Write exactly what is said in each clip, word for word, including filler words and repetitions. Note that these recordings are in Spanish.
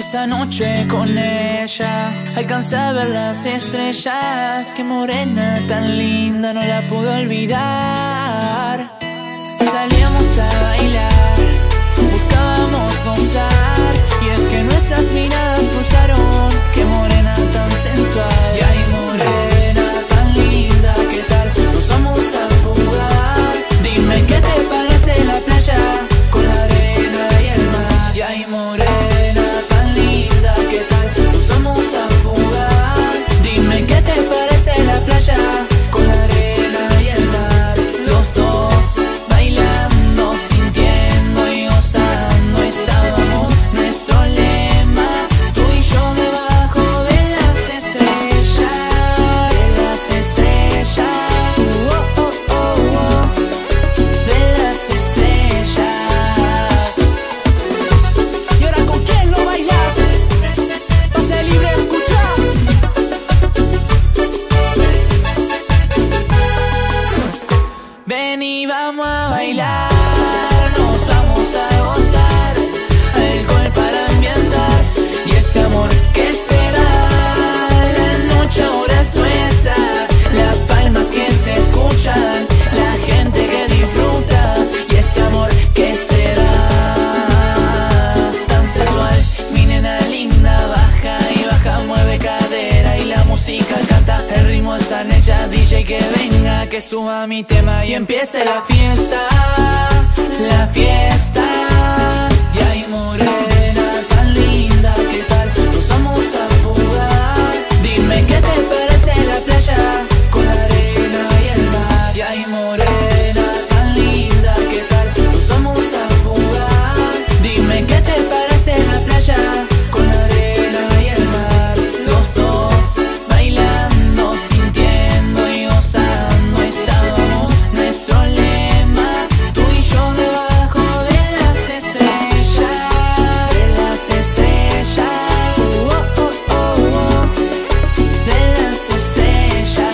Esa noche con ella alcancé a ver las estrellas. Qué morena tan linda, no la pude olvidar. Salíamos a bailar, buscábamos gozar, y es que nuestras miradas cruzaron. Qué morena tan sensual. Y ay, morena tan linda, ¿qué tal? Nos vamos a fugar. Dime qué te parece la playa con la arena y el mar. Y ay, morena tan linda, ¿qué tal? Nos vamos a fugar. Dime qué te parece la playa con la arena y el mar. Los dos bailando, sintiendo y gozando. Estábamos nuestro lema, tú y yo debajo de las estrellas, de las estrellas, oh, oh, oh, oh, de las estrellas. Y ahora, ¿con quién lo bailas? Pase libre, escucha. Ven y vamos a bailar, nos vamos a gozar, alcohol para ambientar y ese amor que se da. La noche ahora es nuestra, las palmas que se escuchan, la gente que disfruta y ese amor que se da. Tan sensual, mi nena linda, baja y baja, mueve cadera y la música canta. El ritmo está en ella, D J que venga, que suba mi tema y empiece la fiesta, la fiesta. Y ay, morena tan linda, ¿qué tal? Nos vamos a fugar. Dime qué te parece la playa con la arena y el mar. Y ay, morena tan linda, ¿qué tal? Nos vamos a fugar. Dime qué te parece la playa con la arena y el mar. Los dos bailando, sintiendo y gozando. Estábamos nuestro lema, tú y yo debajo de las estrellas, de las estrellas, oh, oh, oh, oh, de las estrellas.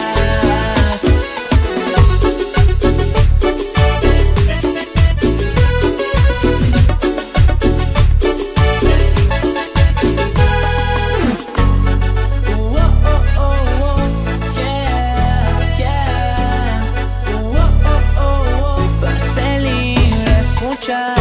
Oh, oh, oh, oh, yeah, yeah. Oh, oh, oh, oh. Pase libre, escucha.